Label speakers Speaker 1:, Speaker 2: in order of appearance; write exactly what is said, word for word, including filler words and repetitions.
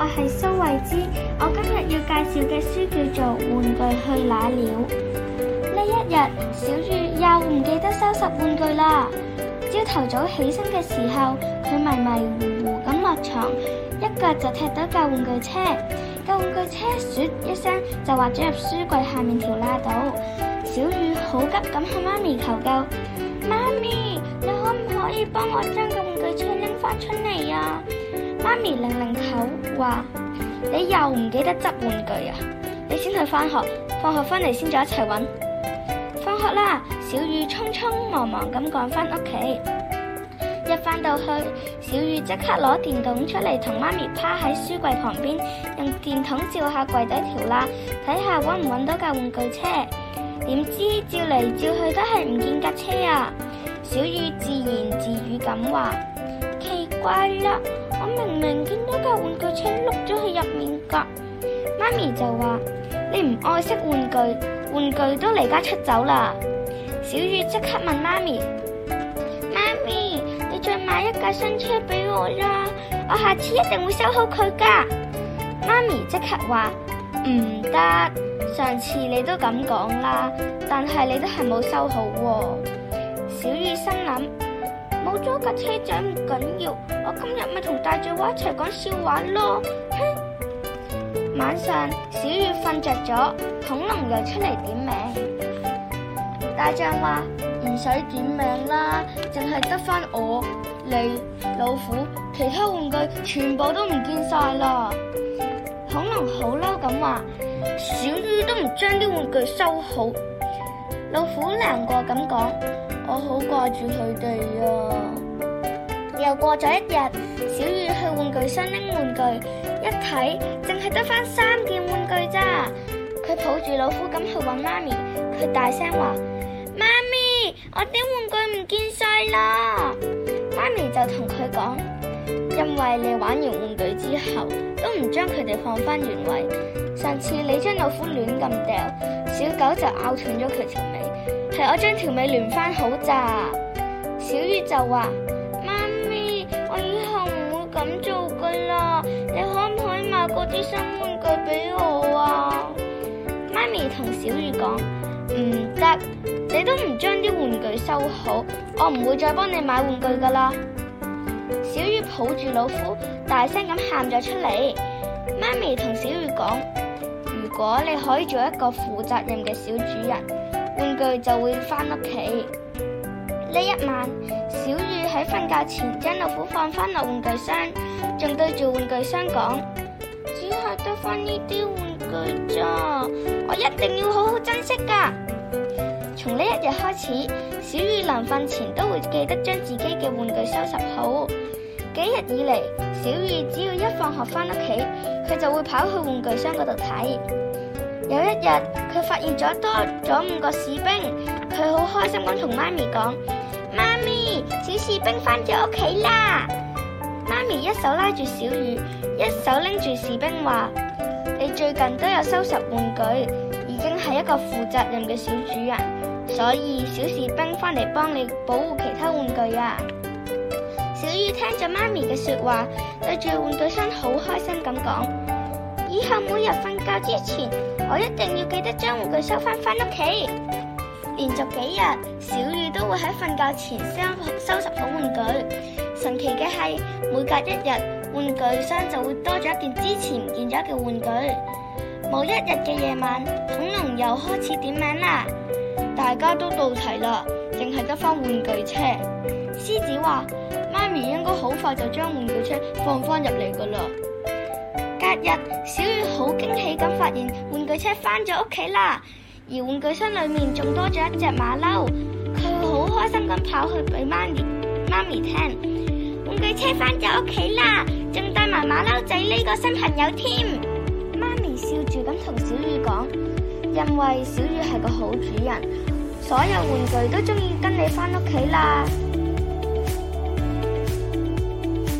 Speaker 1: 係蘇慧芝，我今日要介紹嘅書叫做《玩具去哪了》。呢一日，小雨又唔記得收拾玩具啦。朝頭早起身嘅時候，佢迷迷糊糊咁落床，一腳就踢到架玩具車。架玩具車唰一聲就滑咗入書櫃下面條罅度。小雨好急咁向媽咪求救：媽咪，你可唔可以幫我將個玩具車拎翻出嚟啊？媽咪擰擰頭話：你又唔記得執玩具啊？你先去翻學，放學翻嚟先再一齊揾。放學啦，小雨匆匆忙忙咁趕翻屋企。一翻到去，小雨即刻攞電筒出嚟，同媽咪趴喺書櫃旁邊，用電筒照下櫃底條罅，睇下揾唔揾到架玩具車。點知照嚟照去都係唔見架車啊！小雨自言自語咁話：奇怪啦，我明明見到架玩具車碌咗去入面噶。媽咪就話：你唔愛惜玩具，玩具都離家出走啦。小雨即刻問媽咪：媽咪，你再買一架新車俾我啦，我下次一定會修好佢噶。媽咪即刻話：唔得，上次你都咁講啦，但係你都係冇修好喎。小雨心諗：冇咗架車仔唔緊要，我今日咪同大嘴話一齊講笑話咯。哼！晚上小雨瞓着咗，恐龍又出嚟點名。大象話：唔使點名啦，淨係得返我、你、老虎，其他玩具全部都唔見晒啦。恐龍好嬲咁話：小雨都唔將啲玩具收好。老虎難過咁講：我好掛住佢哋啊。又過咗一日，小雨去玩具箱拎玩具，一睇淨係得返三件玩具咋。佢抱住老虎咁去揾媽咪，佢大聲話：媽咪，我啲玩具唔見晒啦！媽咪就同佢講：因為你玩完玩具之後都唔將佢哋放返原位，上次你將老虎亂咁掉，小狗就咬斷咗佢條尾，係我將條尾連返好咋。小雨就話：媽咪，我以後唔會咁做噶啦，你可唔可以買嗰啲新玩具俾我啊？媽咪同小雨講：唔得，你都唔將啲玩具收好，我唔會再幫你買玩具噶啦。小雨抱住老虎，大聲咁喊咗出嚟。媽咪同小雨講：如果你可以做一個負責任嘅小主人，玩具就會返屋企。呢一晚，小雨喺瞓覺前將老虎放返落玩具箱，仲對住玩具箱講：只係得返呢啲玩具咋，我一定要好好珍惜噶。從呢一日開始，小雨臨瞓前都會記得將自己嘅玩具收拾好。幾日以嚟，小雨只要一放學返屋企，佢就會跑去玩具箱嗰度睇。有一日，佢發現咗多咗五個士兵，佢好開心咁同媽咪講：媽咪，小士兵返咗屋企啦！媽咪一手拉住小雨，一手拎住士兵話：你最近都有收拾玩具，已經係一個負責任嘅小主人，所以小士兵返嚟幫你保護其他玩具啊！小雨聽咗媽咪嘅說話，對住玩具箱好開心咁講：以後每日瞓覺之前，我一定要記得將玩具收翻返屋企。連續幾日，小雨都會喺瞓覺前收收拾好玩具。神奇嘅係，每隔一日，玩具箱就會多咗一件之前唔見咗嘅玩具。某一日嘅夜晚，恐龍又開始點名啦，大家都到齊啦，淨係得翻玩具車。獅子話：媽咪應該好快就將玩具車放翻入嚟噶啦。隔日，小雨好驚喜咁發現玩具車翻咗屋企啦，而玩具箱裏面仲多咗一隻馬騮。佢好開心咁跑去俾媽咪媽咪聽：玩具車翻咗屋企啦，仲帶埋馬騮仔呢個新朋友添。媽咪笑住咁同小雨講：因為小雨係個好主人，所有玩具都中意跟你翻屋企啦。